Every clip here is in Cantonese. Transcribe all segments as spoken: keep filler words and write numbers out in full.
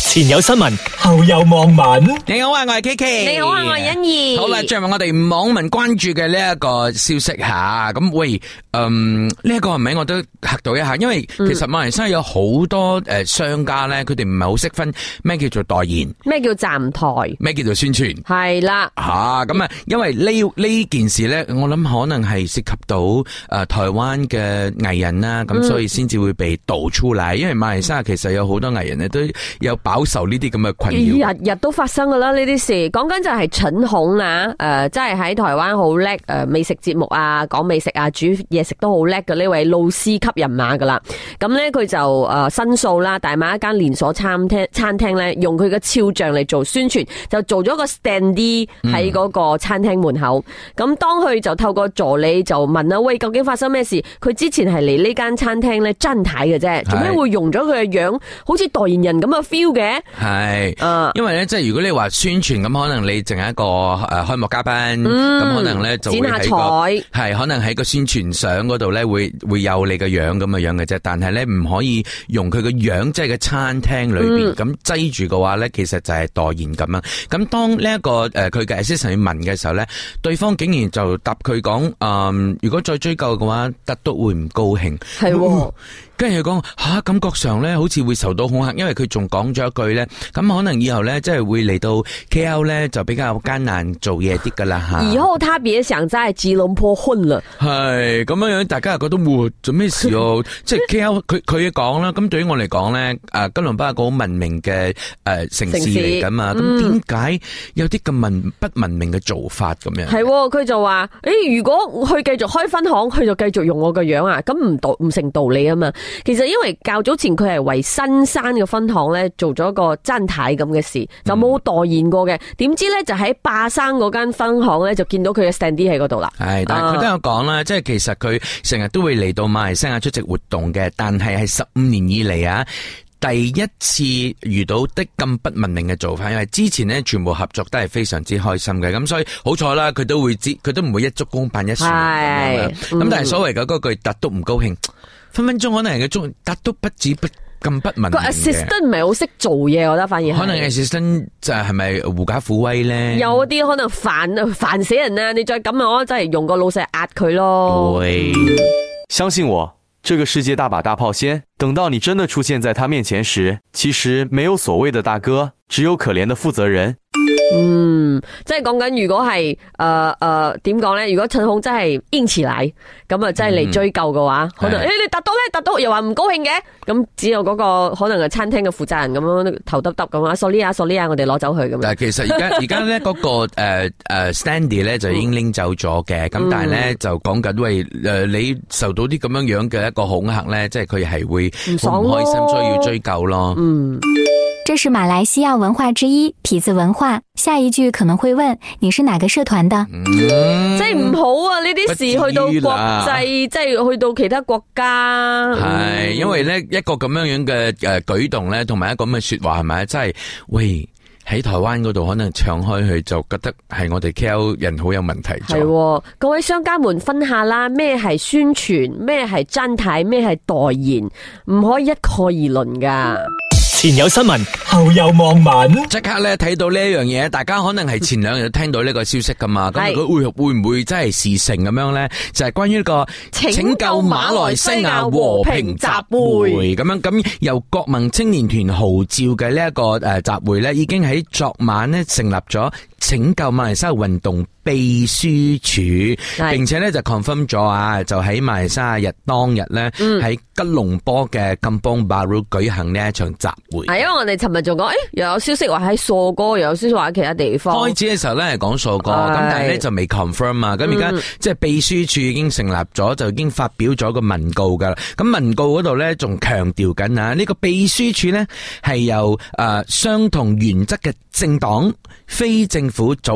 前有新聞，後有網民。 你好啊，我係 K K。 你好啊，我係欣怡。 好啦，最後我哋網民關注嘅呢一個消息吓，咁喂，嗯，呢、這、一個係咪我都嚇到一下？因為其實馬來西亞有好多誒商家咧，佢哋唔係好識分咩叫做代言， 咩叫站台， 咩叫做宣傳， 係啦吓咁啊。因為呢呢件事咧，我諗可能係涉及到誒、呃、台灣嘅藝人啦，咁、嗯、所以先至會被導出嚟。因為馬來西亞其實有好多藝人咧都有飽受呢啲咁嘅困擾， 日日都發生噶啦呢啲事。講緊就係陳紅啊，誒、呃，即係喺台灣好叻誒，美食節目啊，講美食啊，煮嘢食都好叻嘅呢位老師級人馬噶啦。咁咧佢就誒申訴啦，大馬一間連鎖餐廳餐廳咧，用佢嘅肖像嚟做宣傳，就做咗個 standee 喺嗰個餐廳門口。咁、嗯、當佢就透過助理就問啦，喂，究竟發生咩事？佢之前係嚟呢間餐廳咧真睇嘅啫，做咩會用咗佢嘅樣，好似代言人咁嘅 feel 嘅？係，誒，因為咧，即係如果你話宣傳咁，可能你淨係一個誒開幕嘉賓，咁、嗯、可能咧就會喺個係可能喺個宣傳相嗰度咧會會有你嘅樣咁嘅樣嘅啫。但係咧唔可以用佢嘅樣，即係個餐廳裏邊咁擠住嘅話咧，其實就係代言咁樣。咁當呢一個誒佢嘅 assistant 去問嘅時候咧，對方竟然就答佢講誒，如果再追究嘅話，特督會唔高興。係。跟住佢講吓，感覺上咧好似會受到恐嚇，因為佢仲講咗一句咧，咁可能以後咧即係會嚟到 K L 咧就比較艱難做嘢啲噶啦吓。以後他別想在吉隆坡混啦。係咁樣樣，大家又覺得哇做咩事哦？即係 K L 佢佢講啦，咁對於我嚟講咧，誒吉隆坡係個好文明嘅誒城市嚟噶嘛，咁點解有啲咁文不文明嘅做法咁樣？係，佢就話誒，如果佢繼續開分行，佢就繼續用我個樣啊，咁唔道唔成道理啊嘛。其實因為較早前佢係為新山嘅分行咧做咗個真太咁嘅事，就冇代言過嘅。點、嗯、知咧就喺霸山嗰間分行咧就見到佢嘅 standee 喺嗰度啦。係，但係佢都有講啦，即係其實佢成日都會嚟到馬來西亞出席活動嘅，但係係十五年以嚟啊第一次遇到的咁不文明嘅做法，因為之前呢全部合作都係非常之開心嘅，咁所以好彩啦，佢都會知，佢都唔會一竹篙打一船咁樣。咁、嗯、但係所謂嘅嗰句特督唔高興。分分鐘可能係個中，但都不止不咁不文明嘅。個 assistant 唔係好識做嘢，我覺得反而可能 assistant 就係咪狐假虎威咧？有啲可能煩煩死人啊！你再咁啊，我真係用個老細壓佢咯。對， 相信我，這個世界大把大炮先，等到你真的出現在他面前時，其實沒有所謂的大哥，只有可憐的負責人。 嗯，即係講緊如果係誒誒點講咧？如果陳紅真係堅持嚟，咁啊真係嚟追究嘅話，嗯、可能誒、欸、你達到咧達到又話唔高興嘅，咁只有嗰個可能係餐廳嘅負責人咁樣頭耷耷咁啊 sorry 啊 sorry 啊，我哋攞走佢咁。但係其實而家而家咧嗰個誒誒 standee 咧就已經拎走咗嘅，咁、嗯、但係咧就講緊喂誒你受到啲咁樣樣嘅一個恐嚇咧，即係佢係會好唔開心，所以要追究咯。嗯。 這是馬來西亞文化之一，痞子文化。下一句可能會問你是哪個社團的？ 嗯、即係唔好啊！呢啲事去到國際，即係去到其他國家。係、嗯，因為咧一個咁樣樣嘅誒舉動咧，同埋一個咁嘅說話係咪？真係喂喺台灣嗰度可能唱開去，就覺得係我哋 K L 人好有問題。係，各位商家們分下啦，咩係宣傳，咩係真睇，咩係代言，唔可以一概而論噶。 前有新聞，後有網民， 即刻咧睇到呢一樣嘢，大家可能係前兩日聽到呢個消息噶嘛，咁佢會會唔會真係事成咁樣咧？就係、是、關於呢個拯救馬來西亞和平集會咁樣，咁由國民青年團號召嘅呢一個誒集會咧，已經喺昨晚咧成立咗拯救馬來西亞運動秘書處，並且咧就 confirm 咗啊，就喺馬來西亞日當日咧喺吉隆坡嘅 Kampong Baru 舉行呢一場集會。係因為我哋尋日仲講，誒又有消息話喺索哥，又有消息話喺其他地方。開始嘅時候咧係講索哥，咁但係咧就未 confirm 啊。咁而家即係秘書處已經成立咗，就已經發表咗個文告噶啦。咁文告嗰度咧仲強調緊啊，呢個秘書處咧係由誒相同原則嘅政黨、非政府組合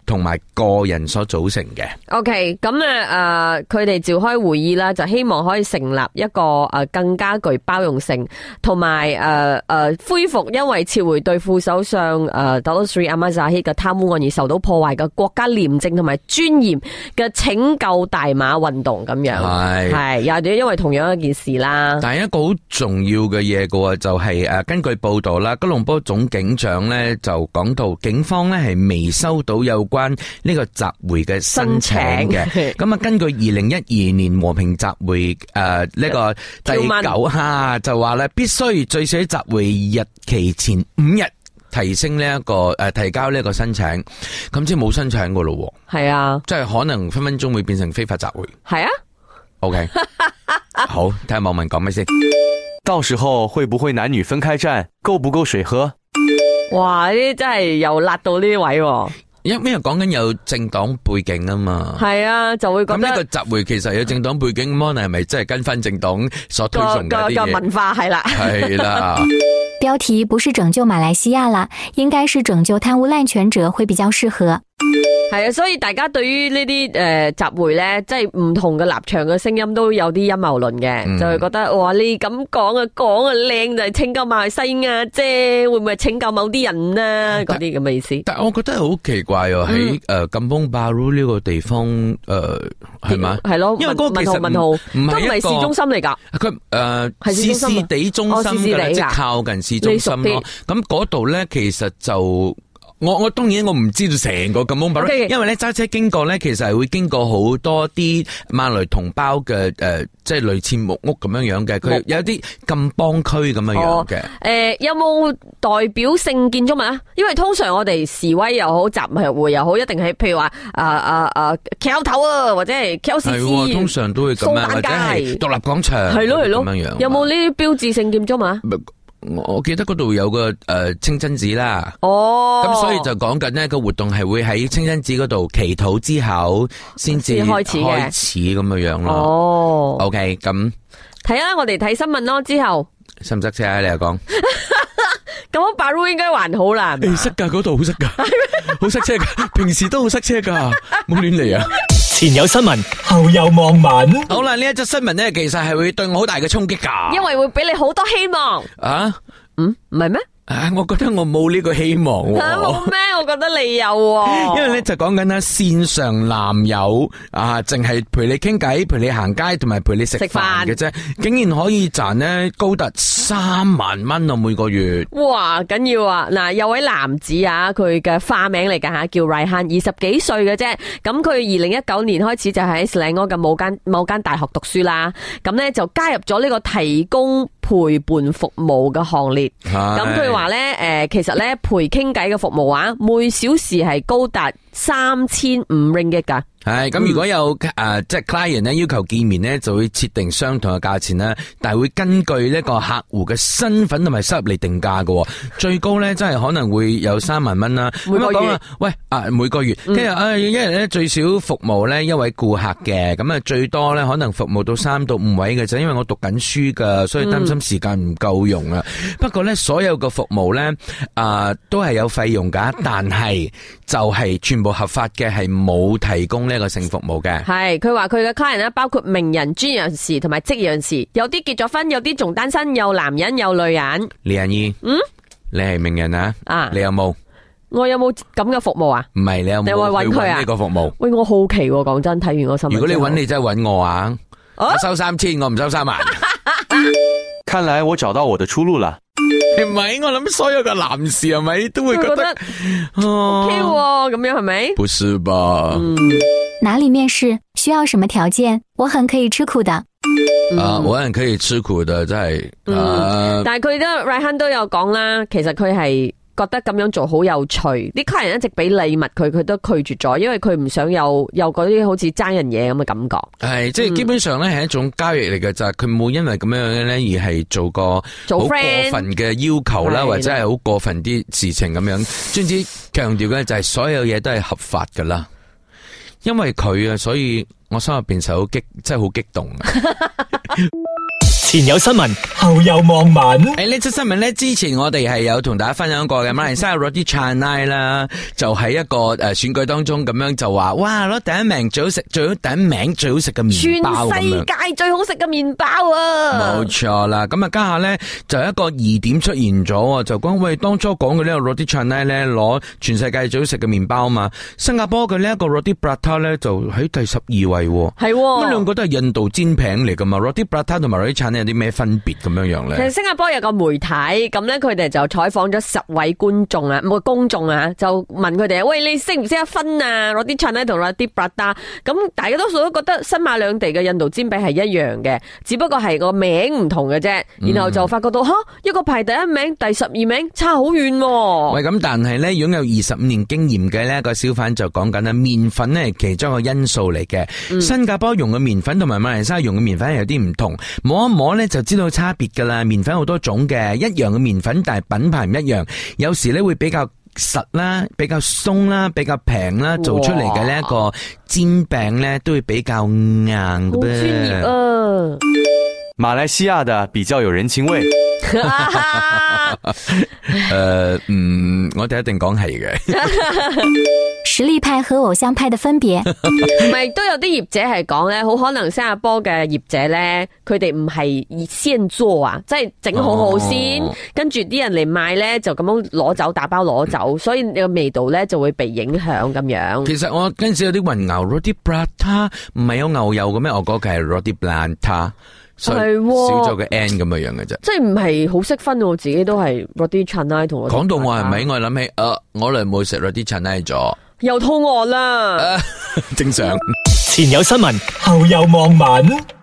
同埋個人所組成嘅。 OK， 咁啊誒，佢哋召開會議啦，就希望可以成立一個誒更加具包容性，同埋誒誒恢復因為撤回對副首相誒 Datuk Seri Ahmad Zahid 嘅貪污案而受到破壞嘅國家廉政同埋尊嚴嘅拯救大馬運動咁樣。係係又因為同樣一件事啦。 但係一個好重要嘅嘢嘅就係誒，根據報道啦，吉隆坡總警長咧就講到，警方咧係未收到有關呢個集會嘅申請嘅。咁啊，根據二零一二年和平集會誒呢個第九哈就話咧，必須最少喺集會日期前五日提升呢一個誒提交呢一個申請。咁即係冇申請噶咯。 係啊， 即係可能分分鐘會變成非法集會。係啊。 OK， 好，睇下網民講咩先。 到時候會不會男女分開站？夠不夠水喝？ 哇！呢啲真係又辣到呢位， 因為講緊有政黨背景啊嘛。係啊，就會覺得咁呢個集會其實有政黨背景，咁係咪真係跟翻政黨所推崇嘅一啲嘢？ 個文化係啦， 係啦。 標題不是拯救馬來西亞啦，應該是拯救貪污濫權者會比較適合。 係啊，所以大家對於呢啲誒集會咧，即係唔同嘅立場嘅聲音都有啲陰謀論嘅，嗯、就係覺得哇，你咁講啊講啊靚就係拯救馬來西亞啫，會唔會係拯救某啲人啊？嗰啲咁嘅意思。 但係我覺得好奇怪喎，喺誒金邦巴魯呢個地方誒係嘛？係咯，因為嗰個其實文號唔係一個市中心嚟㗎。佢誒係市市地中心㗎，即係靠近市中心咯。咁嗰度咧，其實就。我我當然我唔知道成個金邦巴魯，okay, 因為咧揸車經過咧，其實係會經過好多啲馬來同胞嘅誒、呃，即係類似木屋咁樣樣嘅，佢有啲金邦區咁樣樣嘅。誒、哦呃，有冇代表性建築物啊？因為通常我哋示威又好，集會又好，一定係譬如話啊啊啊橋頭啊，或者係 K L C C， 係通常都會咁樣，或者係獨立廣場，係咯係咯咁樣樣。有冇呢啲標誌性建築物啊？我記得嗰度有個誒、呃、清真寺啦，哦，咁所以就講緊呢個活動係會喺清真寺嗰度祈禱之後先至開始開始咁樣樣咯。哦 ，OK， 咁睇啦，我哋睇新聞咯，之後塞唔塞車啊？你又講咁巴魯應該還好啦，誒塞噶，嗰度好塞噶，好塞車噶，平時都好塞車噶，冇亂嚟啊！ 前有新聞，後有網民。好啦，呢一則新聞咧，其實係會對我好大嘅衝擊噶， 因為會俾你好多希望。啊，嗯，唔係咩？ 啊，我覺得我冇呢個希望。 吓，冇咩？我覺得你有。 因為咧就講緊啦，線上男友啊，淨係陪你傾偈、陪你行街同埋陪你食飯嘅啫，竟然可以賺呢高達三萬蚊啊每個月。哇，緊要啊！嗱，有位男子啊，佢嘅花名嚟噶吓，叫 Raihan， 二十幾歲嘅啫。咁佢二零一九年開始就喺斯里安嘅某間某間大學讀書啦。咁咧就加入咗呢個提供陪伴服務嘅行列。咁佢話咧，誒，其實咧陪傾偈嘅服務啊，每小時係高達三千五 ringgit 噶。係咁，如果有誒、呃、即係 client 咧要求見面咧，就會設定相同嘅價錢啦，但係會根據呢個客戶嘅身份同埋收入嚟定價嘅。最高咧真係可能會有三萬蚊啦。每個月，喂啊每個月，跟住啊一日咧最少服務咧一位顧客嘅，咁啊最多咧可能服務到三到五位嘅啫。因為我讀緊書噶，所以擔心時間唔夠用啊。嗯、不過咧所有嘅服務咧啊、呃、都係有費用噶，但係就係全部合法嘅，係冇提供呢。一個性服務嘅係，佢話佢嘅 client 咧包括名人、專業人士同埋職業人士，有啲結咗婚，有啲仲單身，有男人有女人。李欣怡，嗯，你係名人啊？啊，你有冇？我有冇咁嘅服務啊？唔係，你有冇去搵呢個服務？喂，我好奇，講真，睇完個新聞。如果你搵，你真係搵我啊！我收三千，我唔收三萬。 看來我找到我的出路了。 唔係，我諗所有嘅男士係咪都會覺得，覺得、啊、OK 咁樣係咪？不是吧？嗯， 哪裡面試？需要什麼條件？我很可以吃苦的。 啊，我很可以吃苦的，真係。嗯，啊、但係佢都 Raihan 都有講啦，其實佢係覺得咁樣做好有趣，啲客人一直俾禮物佢，佢都拒絕咗，因為佢唔想有有嗰啲好似爭人嘢咁嘅感覺。係，即係基本上咧係一種交易嚟嘅，就係佢冇因為咁樣咧而係做個好過分嘅要求啦，或者係好過分啲事情咁樣。總之強調嘅就係所有嘢都係合法噶啦，因為佢啊，所以我心入邊就好激，真係好激動。 前有新聞，後有網民。 誒，呢則新聞咧，之前我哋係有同大家分享過嘅，馬來西亞 Roti Canai 啦，就喺一個誒選舉當中咁樣就話，哇，攞第一名最好食，最好第一名最好食嘅麵包咁樣。 全世界最好食嘅麵包啊！ 冇錯啦，咁啊家下咧就有一個疑點出現咗，就講喂，當初講嘅呢個 Roti Canai 咧攞全世界最好食嘅麵包啊嘛，新加坡嘅呢一個 Roti Prata 咧就喺第十二位，係咁兩個都係印度煎餅嚟噶嘛 ，Roti Prata 同埋 Roti Canai 有啲咩分別咁樣樣咧？ 其實新加坡有個媒體咁咧，佢哋就採訪咗十位觀眾啊，冇公眾啊，就問佢哋喂，你識唔識得分啊 Roti Canai 同 Roti Prata？咁大家多數都覺得新馬兩地嘅印度煎餅係一樣嘅，只不過係個名唔同嘅啫。然後就發覺到吓、嗯，一個排第一名，第十二名，差好遠。 喂，咁但係咧，擁有二十五年經驗嘅呢個小販就講緊啦，麵粉咧係其中一個因素嚟嘅、嗯。新加坡用嘅麵粉同埋馬來西亞用嘅麵粉係有啲唔同，摸一摸咧就知道差別噶啦。麵粉好多種嘅，一樣嘅麵粉，但係品牌唔一樣，有時咧會比較實啦，比較鬆啦，比較平啦，做出嚟嘅呢一個煎餅咧都會比較硬嘅。好專業啊！ 馬來西亞的比較有人情味。 誒、呃，嗯，我哋一定講係嘅。 實力派和偶像派的分別， 唔係都有啲業者係講咧，好可能新加坡嘅業者咧，佢哋唔係現做啊，即係整好好先，哦、跟住啲人嚟買咧就咁樣攞走，打包攞走，所以你個味道咧就會被影響咁樣。 其實我嗰陣時有啲混淆 Roti Prata 唔係有牛油嘅咩？我覺得係 Roti Prata。係少咗個 N 咁嘅樣嘅啫， 即係唔係好識分，我自己都係 Roti Canai 同我講到我係咪？我諗起，誒、呃，我嚟冇食 Roti Canai 咗， 又肚餓啦， 正常。 前有新聞，後有網民。